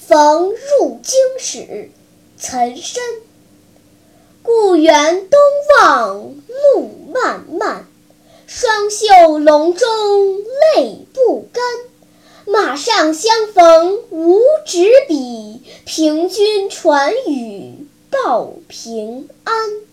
逢入京使，岑参。故园东望路漫漫，双袖龙钟泪不干。马上相逢无纸笔，凭君传语报平安。